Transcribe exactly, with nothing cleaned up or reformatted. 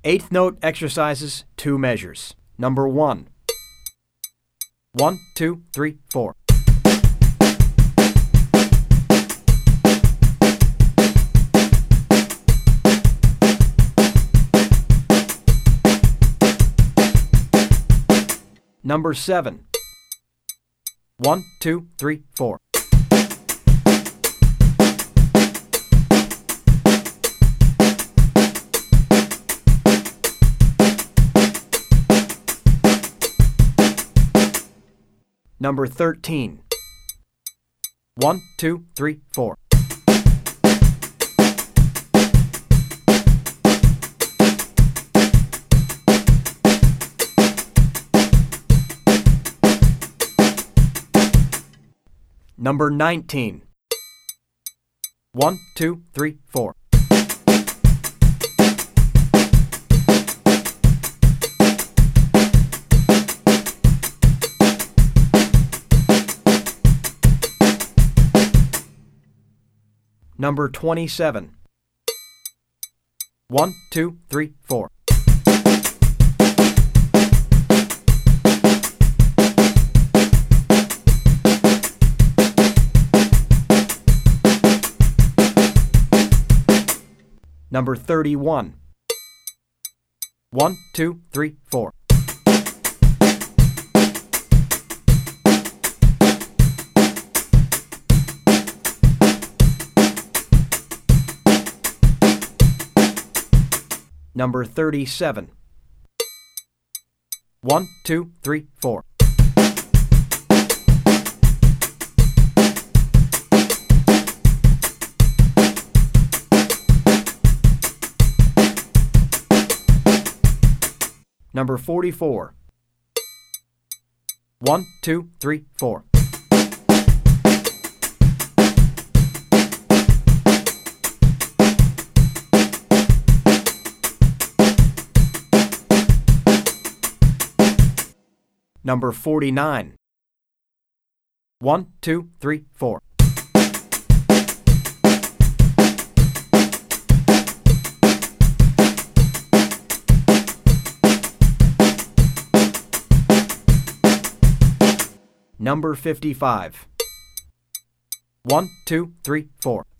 Eighth note exercises, two measures. Number one. One, two, three, four. Number seven. One, two, three, four. Number thirteen. One, two, three, four. Number nineteen. One, two, three, four. Number twenty-seven. One, two, three, four. Number thirty-one. One, two, three, four. Number thirty-seven. One, two, three, four. Number forty-four. One, two, three, four. Number forty-nine. One, two, three, four. Number fifty-five. One, two, three, four.